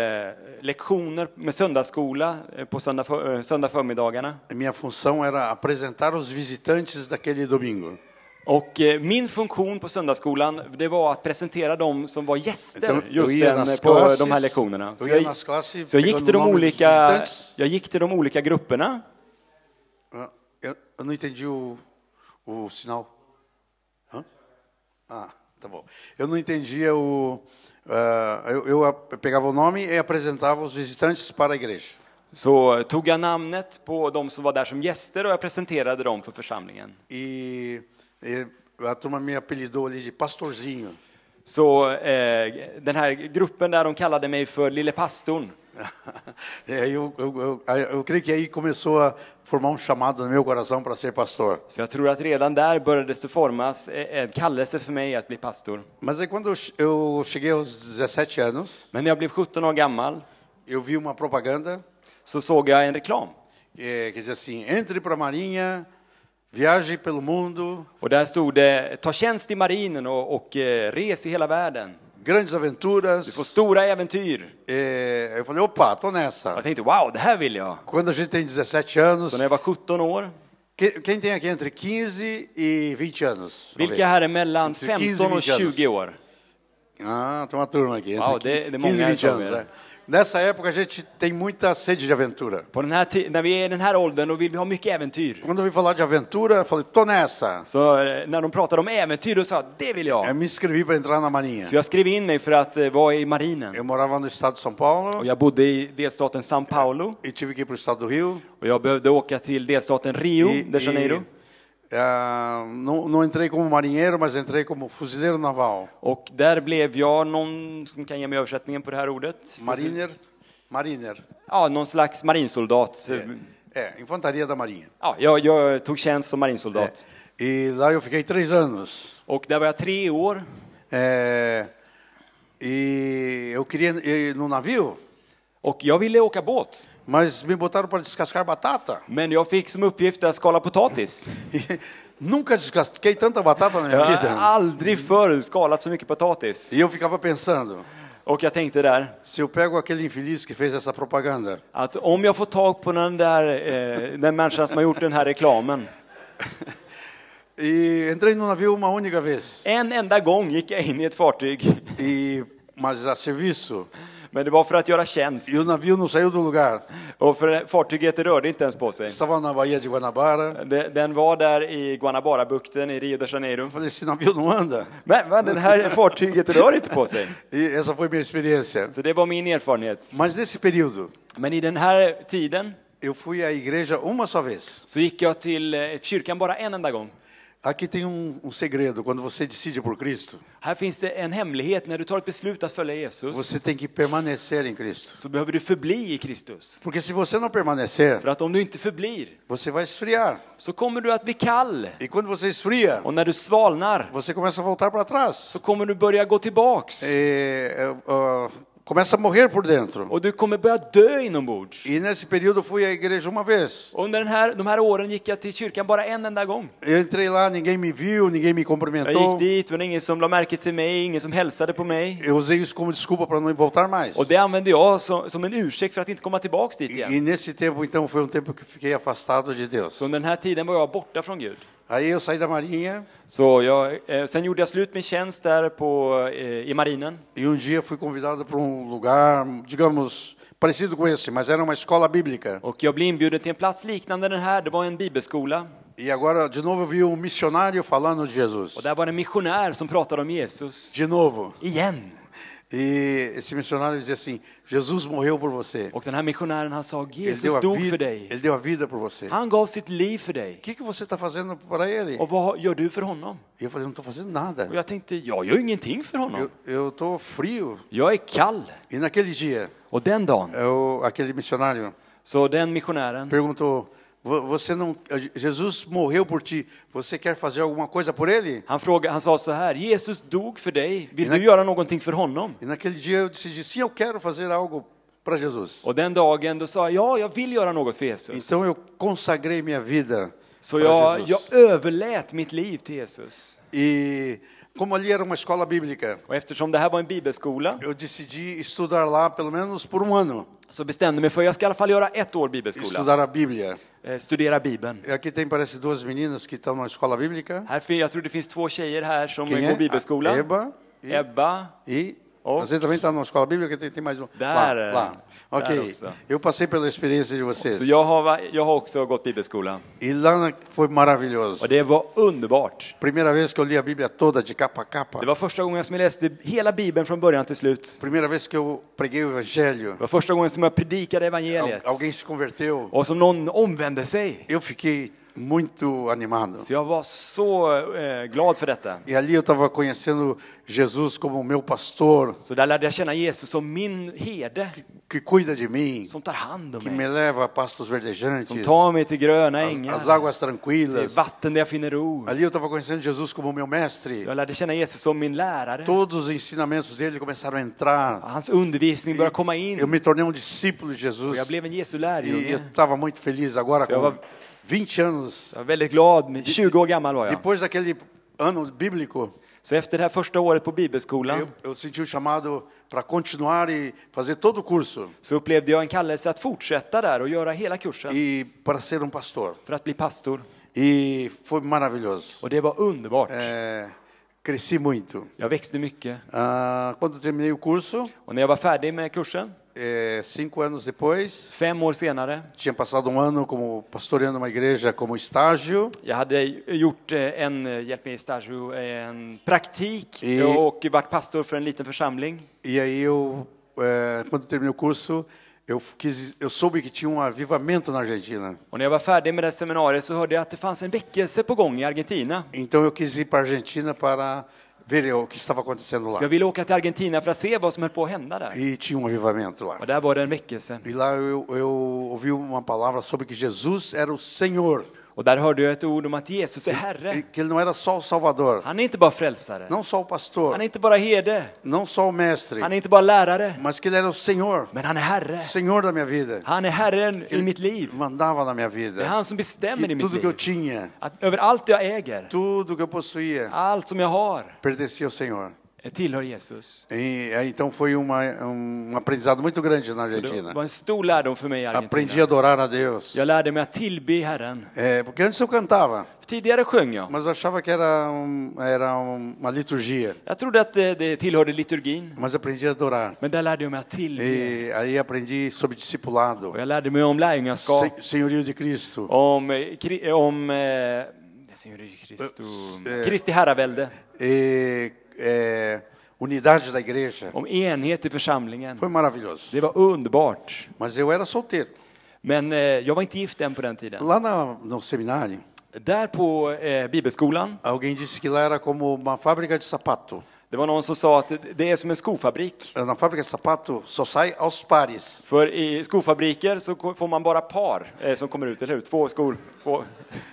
eh, lektioner med söndagsskola eh, på söndag, för, eh, söndag förmiddagarna. A minha função era apresentar os visitantes daquele domingo. Och eh, min funktion på söndagsskolan, det var att presentera dem som var gäster Então, eu just ia den, nas på classes, de här lektionerna. Så eu ia jag, nas classes så jag gick pegando till o de nome dos olika, visitantes. jag gick till de olika grupperna. Ah, Eu, eu não entendi o, o sinal. Hã? Ah, tá bom. Eu não entendia o... ah, eu, eu a- pegava o nome e apresentava os visitantes para a igreja. Så tog jag namnet på de som var där som gäster och jag presenterade dem för församlingen. E, e a turma me apelidou ali de pastorzinho. Så eh, den här gruppen där de kallade mig för Lille Pastorn. E aí eu, eu, eu, aí eu creio que aí começou a formar um chamado no meu coração para ser pastor. Så jag tror att redan där började det formas en kallelse för mig att bli pastor. Mas aí quando eu che- eu cheguei aos dezessete anos, Men när jag blev sjutton år gammal eu vi uma propaganda så såg jag en reklam. eh, que dizia assim, entre para a Marinha, viaje pelo mundo, Och där stod det, ta tjänst i marinen och, och eh, res i hela världen. grandes aventuras. Du får stora äventyr. Eh, eu falei, opa, tô nessa. Jag tänkte, wow, det här vill jag. Quando a gente tem dezessete anos, Så när jag var sjutton år, que- quem tem aqui entre quinze e vinte anos? Vamos vilka ver. här är mellan Entre quinze femton e och vinte anos. tjugo år? Ah, tem uma turma aqui. Entre Uau, det- det är quinze många e vinte här, anos. tror jag. Né? Nessa época a gente tem muita sede de aventura. På den här ti- när vi är i den här åldern, då vill vi ha mycket äventyr. Quando eu vi falar de aventura, eu falei, tô nessa. Så eh, när de pratade om äventyr, då sa jag, det vill Eu jag. me inscrevi para entrar na Marinha. Så jag skrev in mig för att eh, vara i marinen. Eu morava no estado de São Paulo Och jag bodde i delstaten São Paulo. e tive que ir para o estado do Rio. Och jag behövde åka till delstaten Rio E, de Janeiro. e, ah, não, não entrei como marinheiro, mas entrei como fuzileiro naval. Och där blev jag någon som kan ge mig översättningen på det här ordet. Mariner, mariner. Ja, någon slags marinsoldat. É, infantaria da Marinha. Ja, jag, jag tog tjänst som marinsoldat. E lá eu fiquei três anos. Och där var jag tre år. É, e eu queria ir no navio, Och jag ville åka båt. mas me botaram para descascar batata. Men jag fick som uppgift att skala potatis. E nunca descasquei tanta batata na minha Jag har vida. aldrig förr skalat så mycket potatis. E eu ficava pensando, Och jag tänkte där se eu pego aquele infeliz que fez essa propaganda, att om jag får tag på den där eh, den människan som har gjort den här reklamen. e entrei no navio uma única vez. En enda gång gick jag in i ett fartyg. E mas a serviço. Men det var för att göra tjänst. E o navio não saiu do lugar. Och för fartyget rörde inte ens på sig. Estava na Baía de Guanabara. Det- Den var där i Guanabara-bukten i Rio de Janeiro. Eu falei, esse navio não anda. Men, men den här fartyget rör inte på sig. E essa foi minha experiência. Så det var min erfarenhet. Mas nesse período, Men i den här tiden eu fui à igreja uma só vez. så gick jag till eh, kyrkan bara en enda gång. Aqui tem um, um segredo, quando você decide por Cristo, Här finns det en hemlighet. När du tar ett beslut att följa Jesus você tem que permanecer em Cristo. så behöver du förbli i Kristus. Porque se você não permanecer, För att om du inte förblir você vai esfriar. så kommer du att bli kall. E quando você esfria, Och när du svalnar você começa a voltar para trás. så kommer du börja gå tillbaks. E, uh, uh, começa a morrer por dentro. Och du kommer börja dö inombords. E nesse período eu fui à igreja uma vez. Och under den här, de här åren gick jag till kyrkan bara en enda gång. Eu entrei lá, ninguém me viu, ninguém me Jag cumprimentou. gick dit, men ingen som lade märke till mig, ingen som hälsade på mig. Eu usei isso como desculpa para não voltar mais. Och det använde jag som, som en ursäkt för att inte komma tillbaks dit E, igen. e nesse tempo, então, foi um tempo que eu fiquei afastado de Deus. Så under den här tiden var jag borta från Gud. Aí eu saí da Marinha Så jag, eh, sen gjorde jag slut med tjänst där på, eh, i marinen. e um dia fui convidado para um lugar, digamos, parecido com esse, mas era uma escola bíblica. Och jag blev inbjuden till en plats liknande den här. Det var en bibelskola. E agora, de novo, eu vi um missionário falando de Jesus. Och där var det en missionär som pratade om Jesus. De novo. Igen. E esse missionário dizia assim, Jesus morreu por você. Och den här missionären, han sa, Ele Jesus deu a dog för vida, dig. ele deu a vida por você. O Han gav sitt liv för dig. que, que você está fazendo para ele? Och vad gör du för honom? E eu falei, não estou fazendo nada. Och jag tänkte, jag gör ingenting för honom. Eu estou frio. Jag är kall. E naquele dia, Och den dagen, eu, aquele missionário så den missionären, perguntou, "Vo- você não, Jesus morreu por ti, você quer fazer alguma coisa por ele? han, frågade, han sa så här, Jesus dog för dig. Vill Innan- du göra någonting för honom? E naquele dia eu decidi, sim, eu quero fazer algo para Jesus. Och den dagen då sa jag, ja, jag vill göra något för Jesus. Então eu consagrei minha vida Så para jag, Jesus. jag överlät mitt liv till Jesus. E como ali era uma escola bíblica, Och eftersom det här var en bibelskola eu decidi estudar lá pelo menos por um ano, så bestämde jag mig för att jag ska i alla fall göra ett år bibelskola. estudar a Bíblia. Eh, studera Bibeln. E aqui tem, parece, duas meninas que estão na escola bíblica. Här, fin- jag tror det finns två tjejer här som Quem går é? bibelskola. A Eba e, Ebba. e Oh. você também está na escola bíblica, tem, tem mais um. Där, lá, eh, lá. Ok, där också. eu passei pela experiência de vocês. Så jag har, va- jag har också gått bibelskola. E lá na- foi maravilhoso. Och det var underbart. Primeira vez que eu li a Bíblia toda, de capa a capa. Det var första gången som jag läste hela Bibeln från början till slut. Primeira vez que eu preguei o Evangelho. Det var första gången som jag predikade Al- evangeliet. Alguém se converteu. Och som någon omvände sig. Eu fiquei muito animado. Så jag var så eh, glad för detta. E ali eu estava conhecendo Jesus como o meu pastor, Så där lärde jag känna Jesus som min herde. que cuida de mim, Som tar hand om que me mig. leva a pastos verdejantes, Som tar mig till gröna as, as ängar. águas Till tranquilas. vatten där jag finner ro. Ali eu estava conhecendo Jesus como meu mestre. Jag lärde känna Jesus som min lärare. Todos os ensinamentos dele começaram a entrar. Hans undervisning började komma Eu in. me tornei um discípulo de Och Jesus. jag blev en Jesu E eu lärjunge. estava muito feliz agora Så jag com var, vinte anos. jag var väldigt glad. tjugo år gammal var jag. Depois daquele ano bíblico, Så efter det här första året på bibelskolan eu, eu senti o chamado para continuar e fazer todo o curso så upplevde jag en kallelse att fortsätta där och göra hela kursen e para ser um pastor. för att bli pastor. E foi maravilhoso. Och det var underbart. É, cresci muito. Jag växte mycket. Ah, quando eu terminei o curso, Och när jag var färdig med kursen, é, cinco anos depois, fem år senare, tinha passado um ano como pastoreando uma igreja como estágio. jag hade gjort eh, en, eh, hjälp mig i stagio, en praktik I- och varit pastor för en liten församling. E aí eu, é, quando eu terminei o curso, eu quis, eu soube que tinha um avivamento na Argentina. Och när jag var färdig med det seminariet så hörde jag att det fanns en väckelse på gång i Argentina. Então eu quis ir para a Argentina para ver o que estava acontecendo Så lá. jag ville åka till Argentina för att se vad som höll på att hända där. E tinha um avivamento lá. Och där var det en väckelse. E lá eu, eu ouvi uma palavra sobre que Jesus era o Senhor. Och där hörde jag ett ord om att Jesus är E Herre. que ele não era só o Salvador, Han är inte bara frälsare. não só o pastor, Han är inte bara herde. não só o mestre, Han är inte bara lärare. mas que ele era o Senhor, Men han är Herre. Senhor da minha vida. Han är Herren i mitt liv. Mandava na minha Det är vida. han som bestämmer i Que mitt tudo que eu liv. tinha, Att över allt jag äger, tudo que eu possuía, allt som jag har, pertencia ao Senhor. tillhör Jesus. E aí, então foi uma, um aprendizado muito grande na Så det Argentina. var en stor lärdom för mig i Aprendi Argentina. a adorar a Deus. Jag lärde mig att tillbe Herren. É, porque antes eu cantava, Tidigare sjöng jag. mas eu achava que era, um, era uma liturgia. Jag trodde att det, det tillhörde liturgin. Mas aprendi a adorar. Men där lärde jag mig att tillbe. E aí aprendi sobre discipulado, Och jag lärde mig om lärjungaskap. sen, senhorio de Cristo, Om, eh, kri- om eh, Senhor Cristo, Eh, Kristi herravälde. e, é, unidade da igreja. Om enhet i församlingen. Foi maravilhoso. Det var underbart. Mas eu era solteiro. Men eh, jag var inte gift än på den tiden. Lá na, no seminário, Där på eh, bibelskolan, alguém disse que lá era como uma fábrica de sapato. det var någon som sa att det- det är som en skofabrik. Na fábrica de sapato só sai aos pares. För i skofabriker så ko- får man bara par eh, som kommer ut, eller hur? Två skor. Två.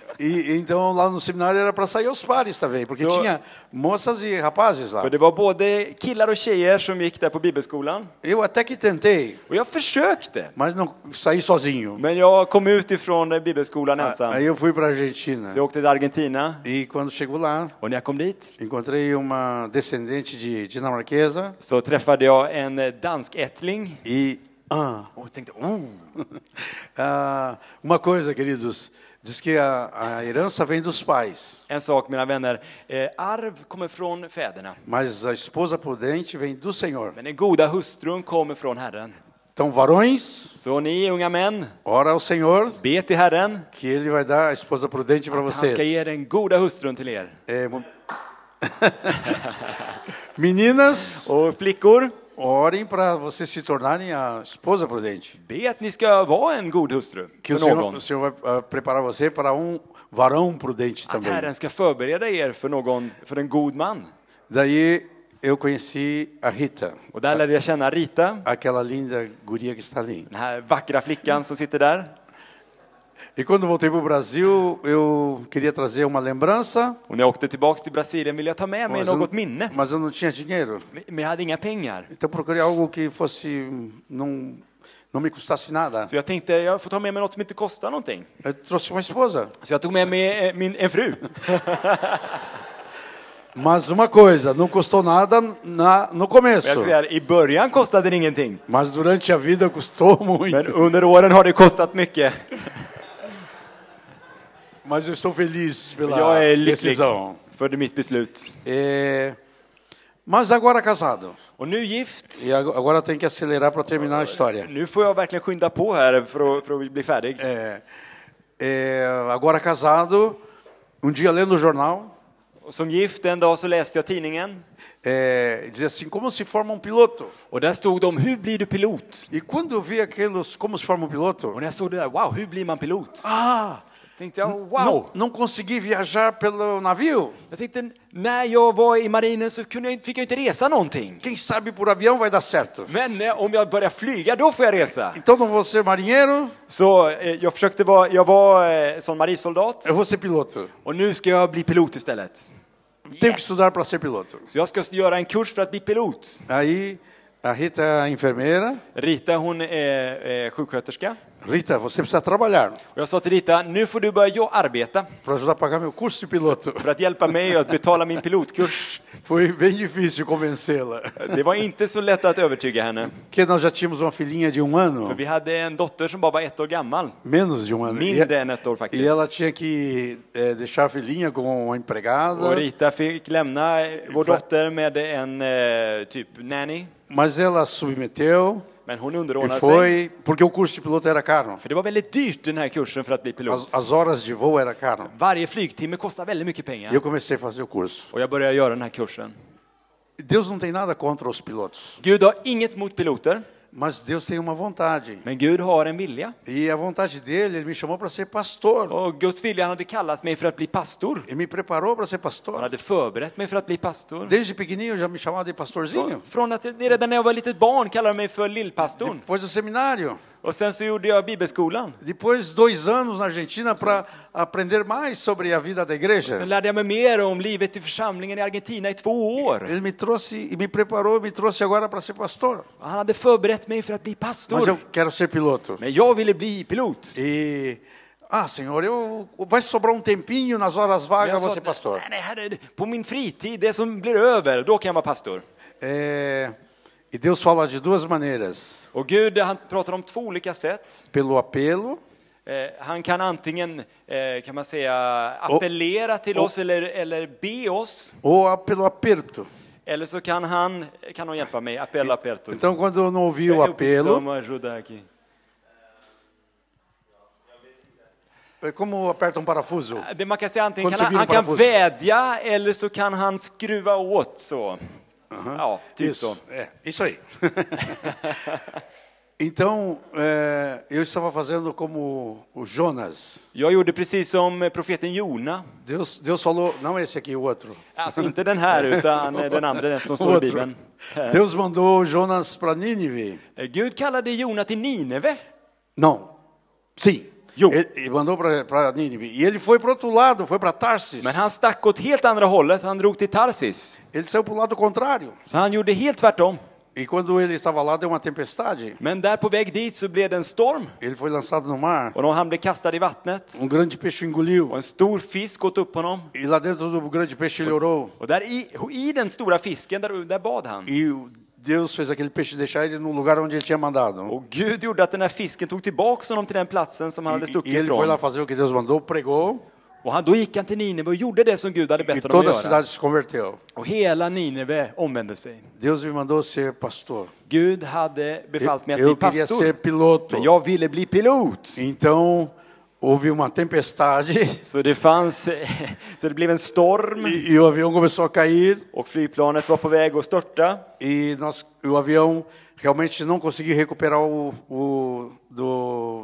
E então lá no seminário era para sair aos pares também, porque So- tinha moças e rapazes lá. För det var både killar och tjejer som gick där på bibelskolan. Eu até que tentei, Och jag försökte. mas não saí sozinho. Men jag kom ut ifrån eh, bibelskolan ensam. Aí eu fui para a Argentina. Så jag åkte till Argentina. E quando chegou lá, Och när jag kom dit encontrei uma descendente de dinamarquesa så träffade jag en eh, danskättling. e ah, Och jag tänkte, oh. ah, uma coisa, queridos, diz que a, a herança vem dos pais, En sak, mina vänner. Eh, arv kommer från fäderna. mas a esposa prudente vem do Senhor. Men den goda hustrun kommer från Herren. Então, varões, Så ni unga män, ora ao Senhor be till Herren que Ele vai dar a esposa prudente para att han ska ge vocês. den goda hustrun till er. É, mo- Meninas, Och flickor, orem para vocês se tornarem a esposa prudente. be att ni ska vara en god hustru Que o för Senhor, någon. o Senhor vai ah, preparar você para um varão prudente Att também. Herren ska förbereda er för någon, för en god man. Daí eu conheci a Rita, Och där lärde jag känna Rita, aquela linda guria que está ali. den här vackra flickan som sitter där. E quando voltei para o Brasil, eu queria trazer uma lembrança, Och när jag åkte tillbaka till Brasilien ville jag ta med mig mas eu, något minne. mas eu não tinha dinheiro. Men jag hade inga pengar. Então procurei algo que fosse não não me custasse nada. Så jag tänkte, jag får ta med mig något som inte kostar någonting. Eu trouxe uma esposa. Så jag tog med mig eh, min, en fru. Mas uma coisa, não custou nada na, no Och começo. jag säger, i början kostade det ingenting. Mas durante a vida custou Men muito. under åren har det kostat mycket. Mas eu estou feliz pela Jag är lycklig decisão. för mitt beslut. É, mas agora casado. Och nu gift. E ag- agora eu tenho que acelerar para terminar a história. Nu får jag verkligen skynda på här för att, för att bli färdig. É, é, agora casado, um dia lendo o jornal, Och som gift en dag så läste jag tidningen. é, dizia assim, como se forma um piloto. Och där stod det om hur blir du pilot? E quando eu vi aqueles, como se forma um piloto, Och när jag såg det där, wow, hur blir man pilot? ah, Tänkte jag, não, wow. não consegui viajar pelo navio. Jag tänkte, när jag var i marinen så kunde jag, fick jag inte resa någonting. Quem sabe por avião vai dar certo. Men eh, om jag börjar flyga, då får jag resa. Então não vou ser marinheiro, Så eh, jag försökte vara, jag var eh, som marinsoldat. eu vou ser piloto. Och nu ska jag bli pilot istället. Tenho que estudar para ser piloto. Så jag ska göra en kurs för att bli pilot. Aí A Rita é a enfermeira. Rita, hon är eh, sjuksköterska. Rita, você precisa trabalhar Och jag sa till Rita, nu får du börja jo- arbeta para ajudar a pagar meu curso de piloto. för att hjälpa mig att betala min pilotkurs. Foi bem difícil convencê-la. Det var inte så lätt att övertyga henne. Porque nós já tínhamos uma filhinha de um För ano, vi hade en dotter som bara var ett år gammal. menos de um ano. Mindre E, än ett år faktiskt. e ela tinha que eh, deixar a filhinha com uma Och empregada. Rita fick lämna eh, vår dotter med en eh, typ nanny. Mas ela submeteu Men hon e underordnade sig. foi, porque o curso de piloto era caro. För det var väldigt dyrt den här kursen för att bli pilot. As, as horas de voo era caro. Varje flygtimme kostar väldigt mycket E eu pengar. comecei a fazer o curso. Och jag började göra den här kursen. Deus não tem nada contra os pilotos, Gud har inget mot piloter, mas Deus tem uma vontade. men Gud har en vilja. E a vontade dele, ele me chamou para ser pastor. Och Guds vilja, han hade kallat mig för att bli pastor. Ele me preparou para ser Han pastor. hade förberett mig för att bli pastor. Desde pequenininho eu já me chamava de pastorzinho. Från att redan när jag var litet barn kallade de mig för lillpastorn. Depois do seminário. Och sen så gjorde jag bibelskolan. Depois, dois anos na Argentina para aprender mais sobre a vida da igreja. Sen lärde jag mig mer om livet i församlingen i Argentina i två år. Ele me trouxe e me preparou e me trouxe agora para ser pastor. Han hade förberett mig för att bli Mas pastor. eu quero ser piloto. Men jag ville bli pilot. E, ah, Senhor, eu, vai sobrar um tempinho nas horas Men jag vagas, sa, vou ser pastor. nej, nej, herre, på min fritid, det som blir över, då kan jag vara pastor. É, e Deus fala de duas maneiras. Och Gud, han pratar om två olika sätt. Pelo apelo, Eh, han kan antingen, eh, kan man säga, appellera till oss eller, eller be oss. ou pelo aperto. Eller så kan han, kan han hjälpa mig, appella aperto. Então, quando eu não ouvi o apelo, Som ajuda aqui. é como aperta um parafuso. Det man kan säga antingen Quando kan você han, vira han um kan parafuso. vädja eller så kan han skruva åt så. Ja, typ så. Isso, é, isso aí. Então, é, eu estava fazendo como o Jonas. Jag gjorde precis som profeten Jona. Deus, Deus falou, não esse aqui, o outro. Alltså inte den här utan den andra, den som O står i outro. Bibeln. Deus mandou Jonas para Nínive. Gud kallade Jona till Nineve. Não, sim. Jo. Ele, ele mandou para Nínive. E ele foi para o outro lado, foi para Tarsis. Men han stack åt helt andra hållet, han drog till Tarsis. Ele saiu para o lado contrário. Så han gjorde helt tvärtom. E quando ele estava lá, deu uma tempestade. Men där på väg dit så blev det en storm. Ele foi lançado no mar. Och då han blev kastad i vattnet. Um grande peixe engoliu. Och en stor fisk åt upp honom. E lá dentro do grande peixe ele orou. Och där i, i den stora fisken, där, där bad han. E Deus fez aquele peixe deixar ele no lugar onde ele tinha mandado. Och Gud gjorde att den här fisken tog tillbaka honom till den platsen som han hade E, stuckit e ele foi lá ifrån. fazer o que Deus mandou, pregou. Och han, då gick han till Nineve och gjorde det som Gud hade E bett honom toda a att göra. cidade se converteu. Och hela Nineve omvände sig. Deus me mandou ser pastor. Gud hade befallt mig att Eu bli queria pastor. ser piloto. Men jag ville bli pilot. Então, houve uma tempestade Så det fanns, så det blev en storm. e, e o avião começou a cair. Och flygplanet var på väg att störta. E nós, o avião realmente não conseguiu recuperar o, o do,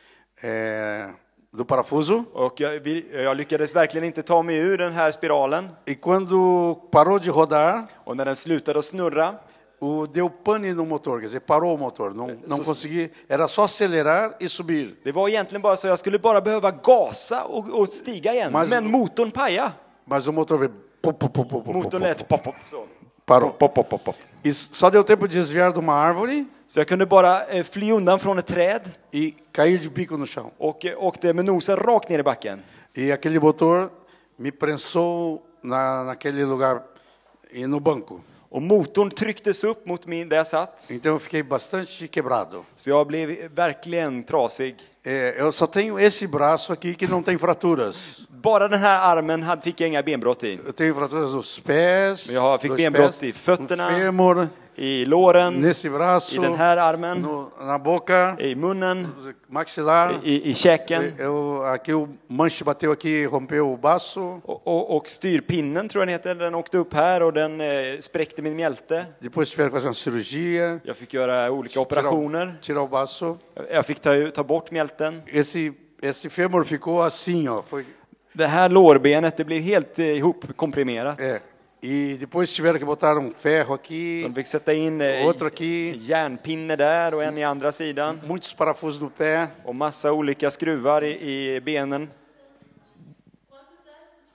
é, do parafuso. Och jag, vi- jag lyckades verkligen inte ta mig ur den här spiralen. E quando parou de rodar, Och när den slutade att snurra o, deu pane no motor, quer dizer, parou o motor. Não, não Så- consegui, era só acelerar e subir. det var egentligen bara så jag skulle bara behöva gasa och, och stiga igen. Men- Men motorn pajade. Mas o motor veio, pop, pop, pop, pop, pop, Motorn pop, lät pop, pop, så. parou. Pop, pop, pop, pop. E só deu tempo de desviar de uma árvore Så jag kunde bara eh, fly undan från ett träd e cair de bico no chão. och eh, åkte med nosen rakt ner i backen. E aquele motor me prensou na, naquele lugar e no banco. Och motorn trycktes upp mot min där jag satt. Então eu fiquei bastante quebrado. Så jag blev verkligen trasig. É, eu só tenho esse braço aqui que não tem fraturas. Bara den här armen hade, fick jag inga benbrott i. Eu tenho fraturas nos pés, Men jag fick dois benbrott pés, i fötterna, no fêmur, I låren, nesse braço, i den här armen, no, na boca, i munnen, maxilar. i, i käken. Eu, aqui o manche bateu aqui, rompeu o baço. Och, och, och styrpinnen tror jag den heter, den åkte upp här och den eh, spräckte min mjälte. Depois tiveram que fazer uma cirurgia, Jag fick göra olika tirar, operationer. tirar o baço. Jag fick ta, ta bort mjälten. Esse, esse fêmur ficou assim, ó. Foi, Det här lårbenet, det blev helt eh, ihopkomprimerat. é. E depois tiveram que botar um ferro Så aqui, de fick sätta in eh, outro aqui, järnpinne där och en i andra sidan. muitos parafusos no pé. Och massa olika skruvar i, i benen.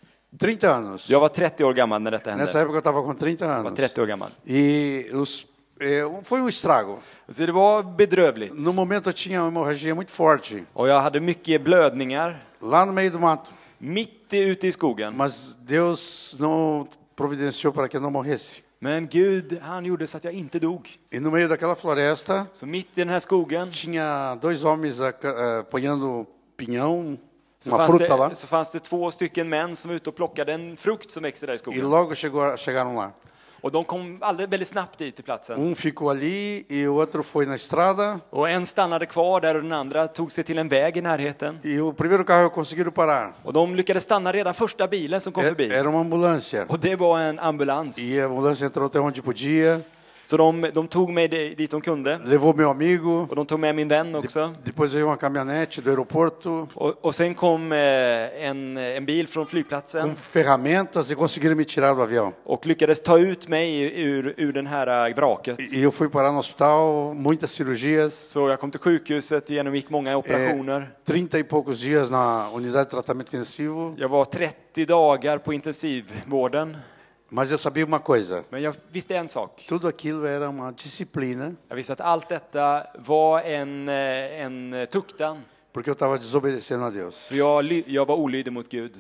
trinta anos. Jag var trettio år gammal när detta Nessa hände. época eu estava com trinta Jag var anos. trettio år gammal. E os, é, foi um estrago. Så det var bedrövligt. No momento eu tinha uma hemorragia muito forte, Och jag hade mycket blödningar lá no meio do mato. mitt ute i skogen. Mas Deus não providenciou para que eu não morresse. Men Gud, han gjorde så att jag inte dog. E no meio daquela floresta, Så mitt i den här skogen tinha dois homens uh, apanhando pinhão, så uma fanns, fruta lá. det, så fanns det två stycken män som var ute och plockade en frukt som växer där i E skogen. logo chegou, chegaram lá. Och de kom alldeles väldigt snabbt dit till platsen. Um ficou ali e o outro foi na estrada. Och en stannade kvar där och den andra tog sig till en väg i närheten. E o primeiro carro conseguiram parar. Och de lyckades stanna redan första bilen som kom förbi. Era uma ambulância. Och det var en ambulans. E a ambulância entrou até onde podia. Så de, de tog mig dit de kunde. Levou meu amigo. Och de tog med min vän också. Depois veio uma caminhonete do aeroporto. Och, och sen kom eh, en, en bil från flygplatsen. Com ferramentas e conseguiram me tirar do avião. Och lyckades ta ut mig ur, ur den här vraket. E eu fui parar no hospital, muitas cirurgias. Så jag kom till sjukhuset och genomgick många operationer. É, trinta e poucos dias na unidade de tratamento intensivo. Jag var trettio dagar på intensivvården. Mas eu sabia uma coisa. Men jag visste en sak. Tudo aquilo era uma disciplina. Jag visste att allt detta var en, eh, en tuktan. Porque eu estava desobedecendo a Deus. För jag, ly- jag var olydig mot Gud.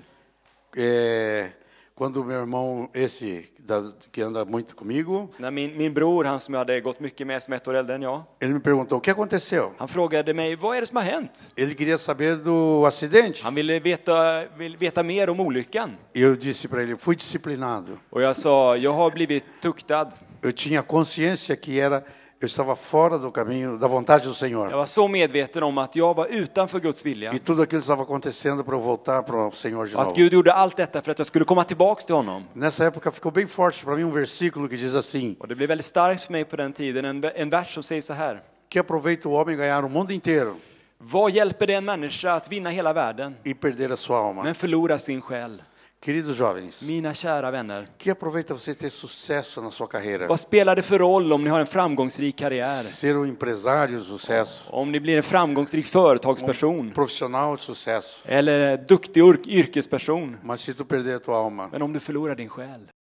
É, quando meu irmão, esse da, que anda muito comigo, Så när min, min bror, han som jag hade gått mycket med som ett år äldre än jag, ele me perguntou o que aconteceu. han frågade mig, vad är det som har hänt? Ele queria saber do acidente. Han ville veta, vill veta mer om olyckan. E eu disse para ele, fui disciplinado. Och jag sa, jag har blivit tuktad. Eu tinha consciência que era eu estava fora do caminho da vontade do Jag Senhor. var så medveten om att jag var utanför Guds vilja. E tudo aquilo estava acontecendo para eu voltar para o Senhor de Och att novo. Gud gjorde allt detta för att jag skulle komma tillbaks till honom. Nessa época ficou bem forte para mim um versículo que diz assim: Och det blev väldigt starkt för mig på den tiden, en, en vers som säger så här. que aproveita o homem ganhar o mundo inteiro Vad hjälper det en människa att vinna hela världen, e perder a sua alma. men förlora sin själ? Queridos jovens, Mina kära vänner, que aproveita você ter sucesso na sua carreira? vad spelar det för roll om ni har en framgångsrik karriär? Ser um empresário de sucesso, Om ni blir en framgångsrik företagsperson profissional de sucesso, eller duktig yrk- yrkesperson. mas se tu perder a tua alma, Men om du förlorar din själ,